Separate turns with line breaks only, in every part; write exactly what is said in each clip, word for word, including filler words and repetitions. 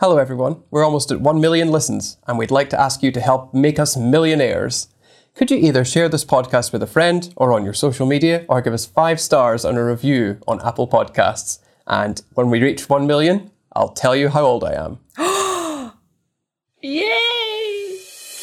Hello everyone, we're almost at one million listens and we'd like to ask you to help make us millionaires. Could you either share this podcast with a friend or on your social media or give us five stars on a review on Apple Podcasts? And when we reach one million, I'll tell you how old I am.
Yay!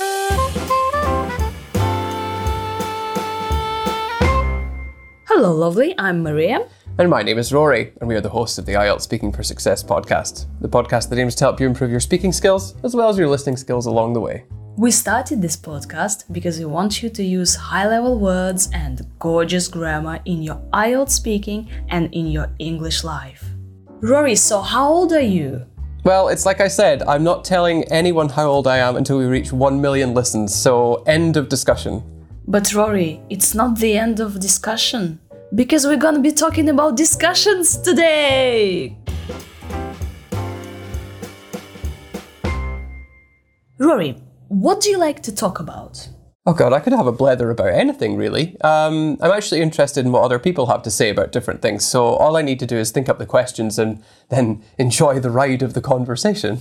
Hello lovely, I'm Maria.
And my name is Rory, and we are the hosts of the I E L T S Speaking for Success podcast, the podcast that aims to help you improve your speaking skills as well as your listening skills along the way.
We started this podcast because we want you to use high-level words and gorgeous grammar in your I E L T S speaking and in your English life. Rory, so how old are you?
Well, it's like I said, I'm not telling anyone how old I am until we reach one million listens, so end of discussion.
But Rory, it's not the end of discussion. Because we're gonna be talking about discussions today! Rory, what do you like to talk about?
Oh god, I could have a blether about anything, really. Um, I'm actually interested in what other people have to say about different things, so all I need to do is think up the questions and then enjoy the ride of the conversation.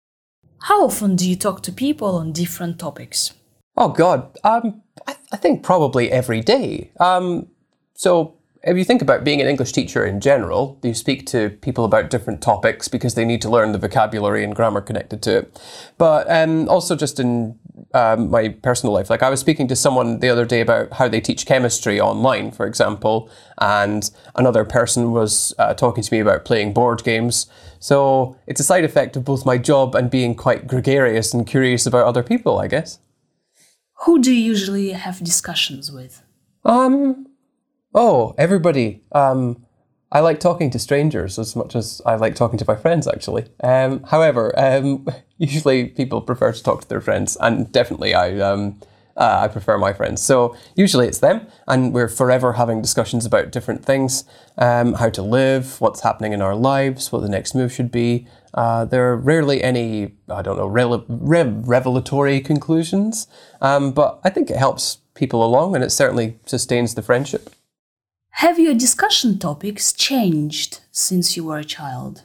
How often do you talk to people on different topics?
Oh god, um, I, I think probably every day. Um, So if you think about being an English teacher in general, you speak to people about different topics because they need to learn the vocabulary and grammar connected to it. But um, also just in um, my personal life, like I was speaking to someone the other day about how they teach chemistry online, for example, and another person was uh, talking to me about playing board games. So it's a side effect of both my job and being quite gregarious and curious about other people, I guess.
Who do you usually have discussions with?
Um... Oh, everybody. Um, I like talking to strangers as much as I like talking to my friends, actually. Um, however, um, usually people prefer to talk to their friends, and definitely I um, uh, I prefer my friends. So usually it's them, and we're forever having discussions about different things, um, how to live, what's happening in our lives, what the next move should be. Uh, there are rarely any, I don't know, re- re- revelatory conclusions, um, but I think it helps people along, and it certainly sustains the friendship.
Have your discussion topics changed since you were a child?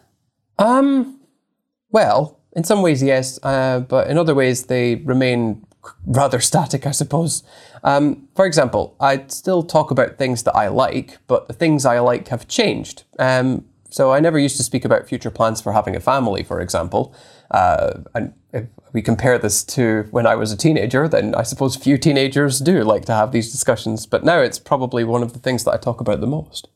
Um, well, in some ways, yes, uh, but in other ways, they remain rather static, I suppose. Um, for example, I still talk about things that I like, but the things I like have changed. Um, so I never used to speak about future plans for having a family, for example. Uh, and if we compare this to when I was a teenager, then I suppose few teenagers do like to have these discussions, but now it's probably one of the things that I talk about the most.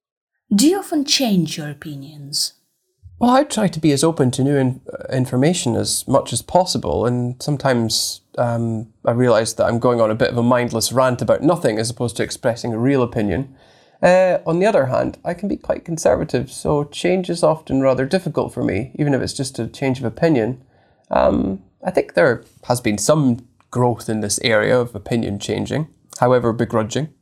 Do you often change your opinions?
Well, I try to be as open to new in- information as much as possible, and sometimes um, I realise that I'm going on a bit of a mindless rant about nothing as opposed to expressing a real opinion. Uh, on the other hand, I can be quite conservative, so change is often rather difficult for me, even if it's just a change of opinion. Um, I think there has been some growth in this area of opinion changing, however begrudging.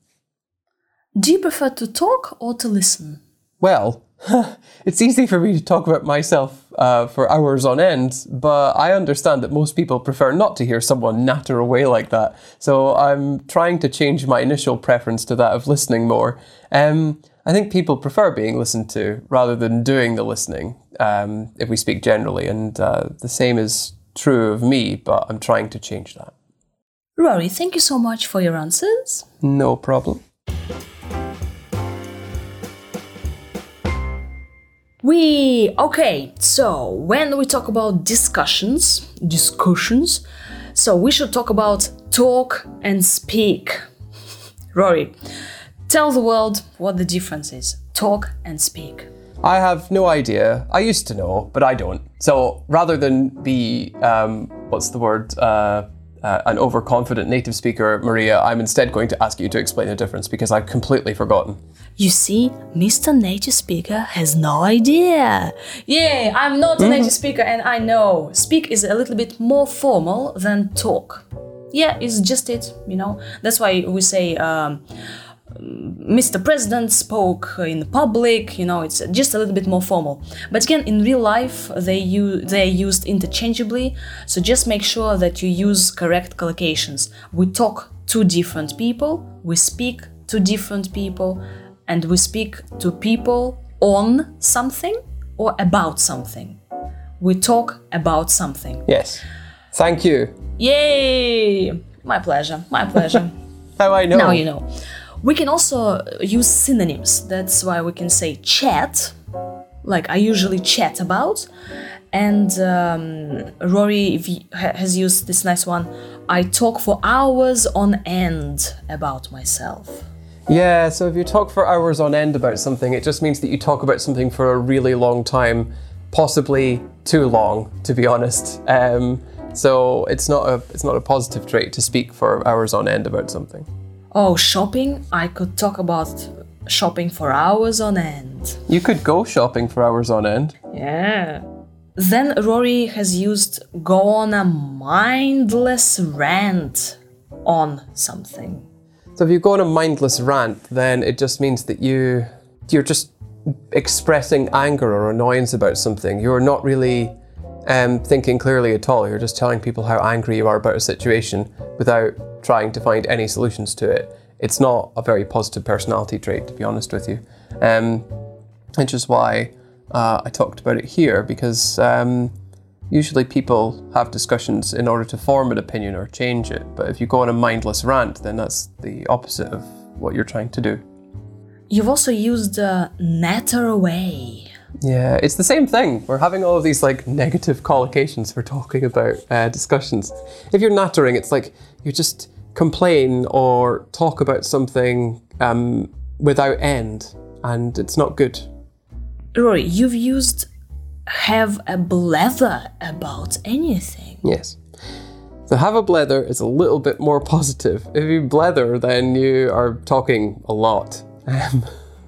Do you prefer to talk or to listen?
Well, it's easy for me to talk about myself uh, for hours on end, but I understand that most people prefer not to hear someone natter away like that. So I'm trying to change my initial preference to that of listening more. Um, I think people prefer being listened to rather than doing the listening, um, if we speak generally. And uh, the same is true of me, but I'm trying to change that.
Rory, thank you so much for your answers.
No problem.
We, okay, so when we talk about discussions, discussions, so we should talk about talk and speak. Rory, tell the world what the difference is, talk and speak.
I have no idea. I used to know, but I don't. So rather than be, um, what's the word, uh, uh, an overconfident native speaker, Maria, I'm instead going to ask you to explain the difference because I've completely forgotten.
You see, Mister Native Speaker has no idea. Yeah, I'm not a native speaker and I know. Speak is a little bit more formal than talk. Yeah, it's just it, you know. That's why we say um, Mister President spoke in public, you know, it's just a little bit more formal. But again, in real life, they use, they're used interchangeably, so just make sure that you use correct collocations. We talk to different people, we speak to different people, and we speak to people on something or about something. we talk about something.
Yes. Thank you.
Yay! My pleasure, my pleasure.
How I know.
Now you know. We can also use synonyms. That's why we can say chat, like I usually chat about. And um, Rory has used this nice one. I talk for hours on end about myself.
Yeah, so if you talk for hours on end about something, it just means that you talk about something for a really long time, possibly too long, to be honest. Um, so it's not a it's not a positive trait to speak for hours on end about something.
Oh, shopping? I could talk about shopping for hours on end.
You could go shopping for hours on end.
Yeah. Then Rory has used go on a mindless rant on something.
So if you go on a mindless rant, then it just means that you, you're just expressing anger or annoyance about something. You're not really um, thinking clearly at all. You're just telling people how angry you are about a situation without trying to find any solutions to it. It's not a very positive personality trait, to be honest with you. Um, which is why uh, I talked about it here, because um, usually people have discussions in order to form an opinion or change it. But if you go on a mindless rant, then that's the opposite of what you're trying to do.
You've also used uh, natter away.
Yeah, it's the same thing. We're having all of these like negative collocations for talking about uh, discussions. If you're nattering, it's like you just complain or talk about something um, without end, and it's not good.
Rory, you've used have a blather about anything.
Yes. So have a blather is a little bit more positive. If you blather, then you are talking a lot. Um,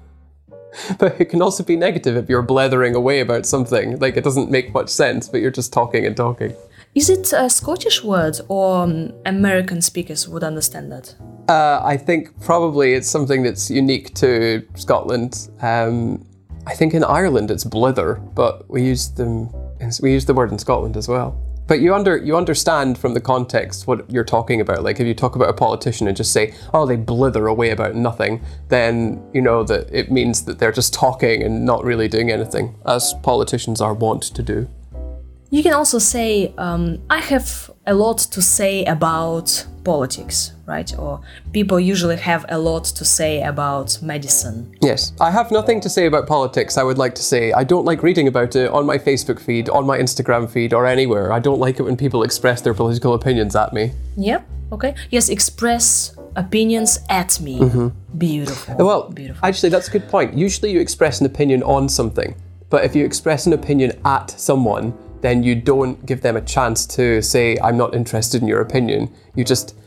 but it can also be negative if you're blathering away about something. Like, it doesn't make much sense, but you're just talking and talking.
Is it a Scottish word, or um, American speakers would understand that?
Uh, I think probably it's something that's unique to Scotland. Um, I think in Ireland it's blither, but we use them. We use the word in Scotland as well. But you under you understand from the context what you're talking about. Like if you talk about a politician and just say, "Oh, they blither away about nothing," then you know that it means that they're just talking and not really doing anything, as politicians are wont to do.
You can also say, um, I have a lot to say about politics, right? Or people usually have a lot to say about medicine.
Yes, I have nothing to say about politics. I would like to say I don't like reading about it on my Facebook feed, on my Instagram feed, or anywhere. I don't like it when people express their political opinions at me.
Yep, okay. Yes, express opinions at me. Mm-hmm. Beautiful.
Well,
Beautiful.
Actually, that's a good point. Usually you express an opinion on something, but if you express an opinion at someone, then you don't give them a chance to say, I'm not interested in your opinion. You just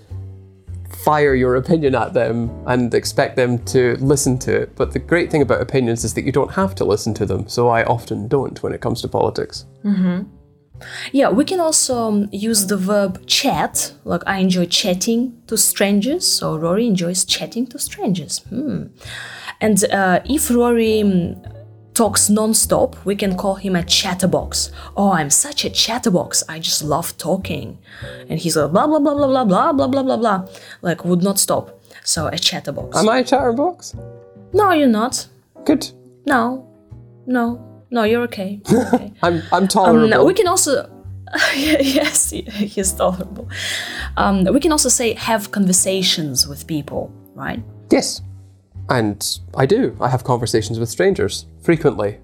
fire your opinion at them and expect them to listen to it. But the great thing about opinions is that you don't have to listen to them. So I often don't when it comes to politics.
Mm-hmm. Yeah, we can also um, use the verb chat. Like, I enjoy chatting to strangers. So Rory enjoys chatting to strangers. Hmm. And uh, if Rory um, talks non-stop, we can call him a chatterbox. Oh, I'm such a chatterbox. I just love talking. And he's like blah, blah, blah, blah, blah, blah, blah, blah, blah, blah. Like, would not stop. So a chatterbox.
Am I a chatterbox?
No, you're not.
Good.
No. No. No, you're okay. You're okay.
I'm I'm tolerable.
Um, we can also... yes, he's tolerable. Um, we can also say have conversations with people, right?
Yes. And I do. I have conversations with strangers frequently.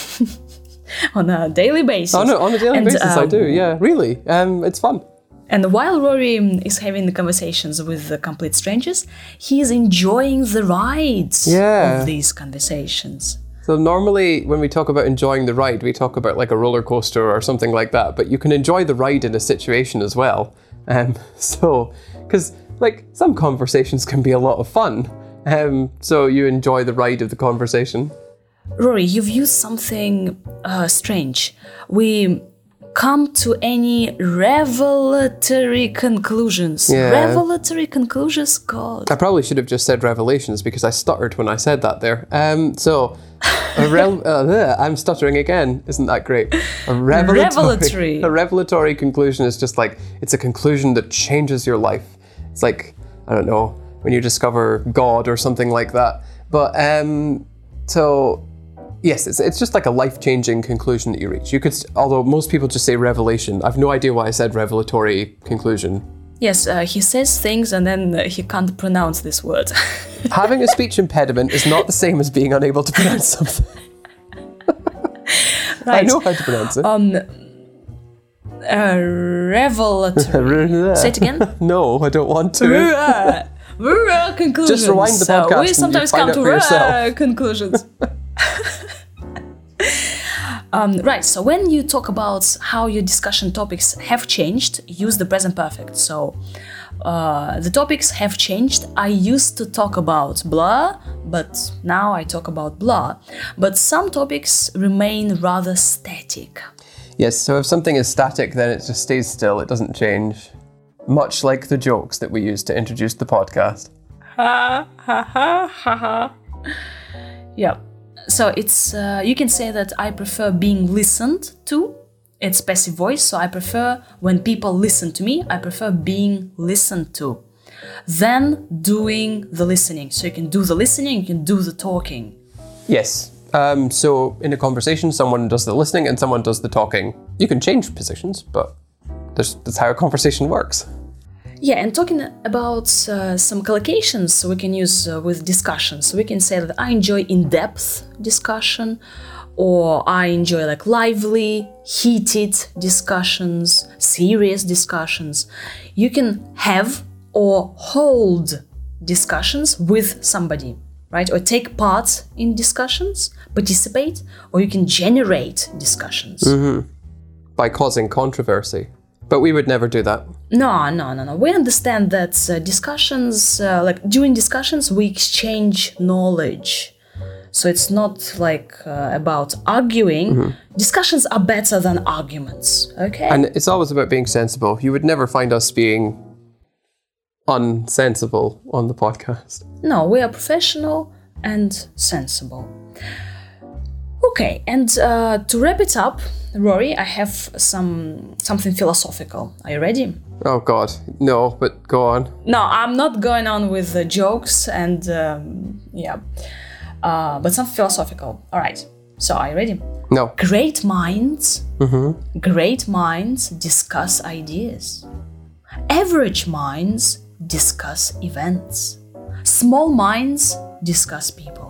On a daily basis.
Oh no, on a daily
and,
basis
um,
I do, yeah, really. Um, it's fun.
And while Rory is having the conversations with the complete strangers, he is enjoying the rides
yeah.
of these conversations.
So normally when we talk about enjoying the ride, we talk about like a roller coaster or something like that, but you can enjoy the ride in a situation as well. Um, so, because like some conversations can be a lot of fun. Um, so you enjoy the ride of the conversation.
Rory, you've used something uh, strange. We come to any revelatory conclusions.
Yeah.
Revelatory conclusions? God.
I probably should have just said revelations because I stuttered when I said that there. Um, so, a rel- uh, I'm stuttering again. Isn't that great? A revelatory,
Revelatory.
A revelatory conclusion is just like, it's a conclusion that changes your life. It's like, I don't know, when you discover God or something like that. But, um, so, Yes, it's, it's just like a life-changing conclusion that you reach. You could, although most people just say revelation. I've no idea why I said revelatory conclusion.
Yes, uh, he says things and then uh, he can't pronounce this word.
Having a speech impediment is not the same as being unable to pronounce something.
Right.
I know how to pronounce it.
Um, uh, revelatory. Say it again.
No, I don't want to.
Conclusions.
Just rewind the podcast
Uh, we
and
sometimes
you find
come
out
to
for yourself.
uh, conclusions. um, right, so when you talk about how your discussion topics have changed, use the present perfect. So uh, the topics have changed. I used to talk about blah, but now I talk about blah. But some topics remain rather static.
Yes, so if something is static, then it just stays still. It doesn't change. Much like the jokes that we use to introduce the podcast.
Ha ha ha ha ha. Yeah. So it's uh, you can say that I prefer being listened to. It's passive voice, so I prefer when people listen to me, I prefer being listened to than doing the listening. So you can do the listening, you can do the talking.
Yes. Um, so in a conversation, someone does the listening and someone does the talking. You can change positions, but That's, that's how a conversation works.
Yeah, and talking about uh, some collocations we can use uh, with discussions. So we can say that I enjoy in-depth discussion, or I enjoy like lively, heated discussions, serious discussions. You can have or hold discussions with somebody, right? Or take part in discussions, participate, or you can generate discussions.
Mm-hmm. By causing controversy. But we would never do that.
No, no, no, no. We understand that uh, discussions, uh, like during discussions, we exchange knowledge. So it's not like uh, about arguing. Mm-hmm. Discussions are better than arguments, okay?
And it's always about being sensible. You would never find us being unsensible on the podcast.
No, we are professional and sensible. Okay, and uh, to wrap it up, Rory, I have some something philosophical. Are you ready?
Oh God, no, but go on.
No, I'm not going on with the jokes and um, yeah, uh, but some philosophical. All right, so are you ready?
No.
Great minds,
mm-hmm.
great minds discuss ideas. Average minds discuss events. Small minds discuss people.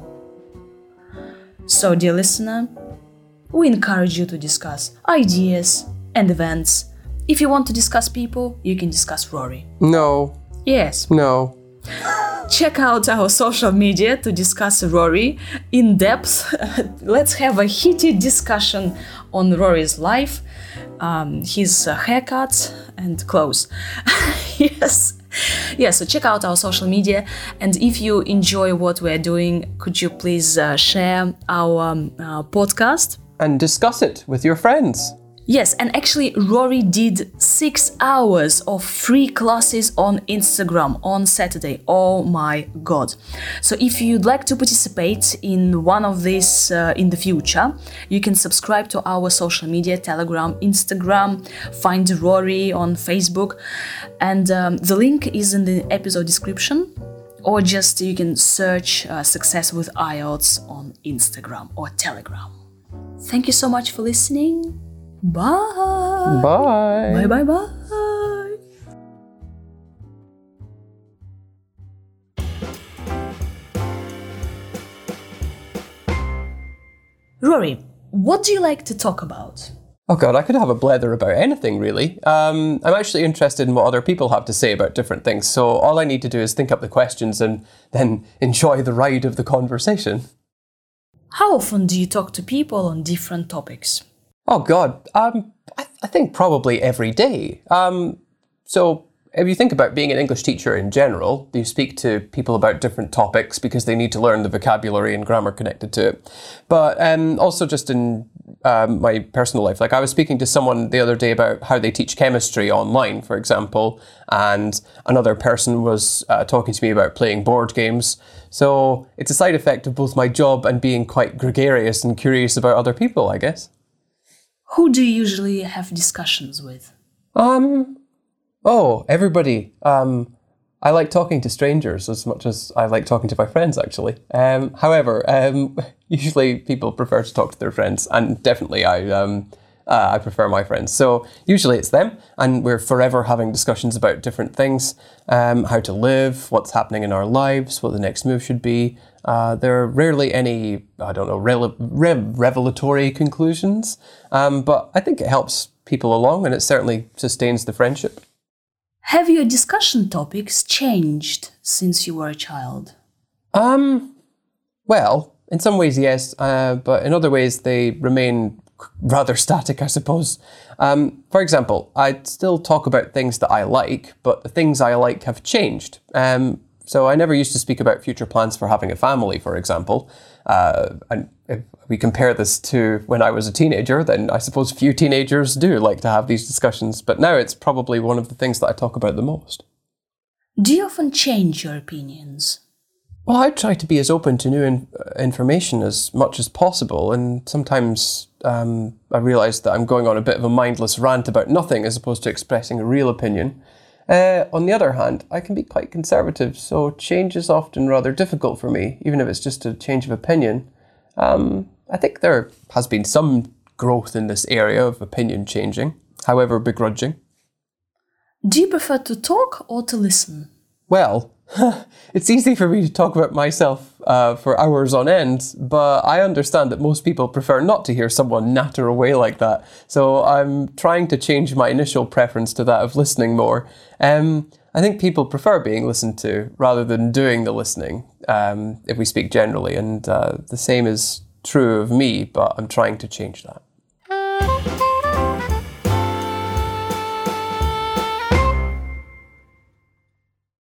So, dear listener, we encourage you to discuss ideas and events. If you want to discuss people, you can discuss Rory.
No.
Yes.
No.
Check out our social media to discuss Rory in depth. Let's have a heated discussion on Rory's life, um, his uh, haircut and clothes. Yes. Yeah, so check out our social media, and if you enjoy what we're doing, could you please uh, share our um, uh, podcast?
And discuss it with your friends.
Yes, and actually Rory did six hours of free classes on Instagram on Saturday. Oh my God. So if you'd like to participate in one of these uh, in the future, you can subscribe to our social media, Telegram, Instagram, find Rory on Facebook, and um, the link is in the episode description, or just you can search uh, Success with I E L T S on Instagram or Telegram. Thank you so much for listening. Bye.
Bye.
Bye, bye, bye. Rory, what do you like to talk about?
Oh God, I could have a blether about anything, really. Um, I'm actually interested in what other people have to say about different things, so all I need to do is think up the questions and then enjoy the ride of the conversation.
How often do you talk to people on different topics?
Oh God, um, I, th- I think probably every day. Um, so if you think about being an English teacher in general, you speak to people about different topics because they need to learn the vocabulary and grammar connected to it. But um, also just in um, my personal life, like I was speaking to someone the other day about how they teach chemistry online, for example, and another person was uh, talking to me about playing board games. So it's a side effect of both my job and being quite gregarious and curious about other people, I guess.
Who do you usually have discussions with?
Um, oh, everybody. Um, I like talking to strangers as much as I like talking to my friends, actually. Um, however, um, usually people prefer to talk to their friends, and definitely I um, uh, I prefer my friends. So usually it's them, and we're forever having discussions about different things, um, how to live, what's happening in our lives, what the next move should be. Uh, there are rarely any, I don't know, rele- rev- revelatory conclusions, um, but I think it helps people along, and it certainly sustains the friendship.
Have your discussion topics changed since you were a child?
Um, well, in some ways, yes, uh, but in other ways, they remain rather static, I suppose. Um, for example, I still talk about things that I like, but the things I like have changed. Um, so I never used to speak about future plans for having a family, for example. Uh, and if we compare this to when I was a teenager, then I suppose few teenagers do like to have these discussions, but now it's probably one of the things that I talk about the most.
Do you often change your opinions?
Well, I try to be as open to new in- information as much as possible, and sometimes um, I realise that I'm going on a bit of a mindless rant about nothing as opposed to expressing a real opinion. Uh, on the other hand, I can be quite conservative, so change is often rather difficult for me, even if it's just a change of opinion. Um, I think there has been some growth in this area of opinion changing, however begrudging.
Do you prefer to talk or to listen?
Well, it's easy for me to talk about myself uh, for hours on end, but I understand that most people prefer not to hear someone natter away like that. So I'm trying to change my initial preference to that of listening more. Um, I think people prefer being listened to rather than doing the listening, um, if we speak generally. And uh, the same is true of me, but I'm trying to change that.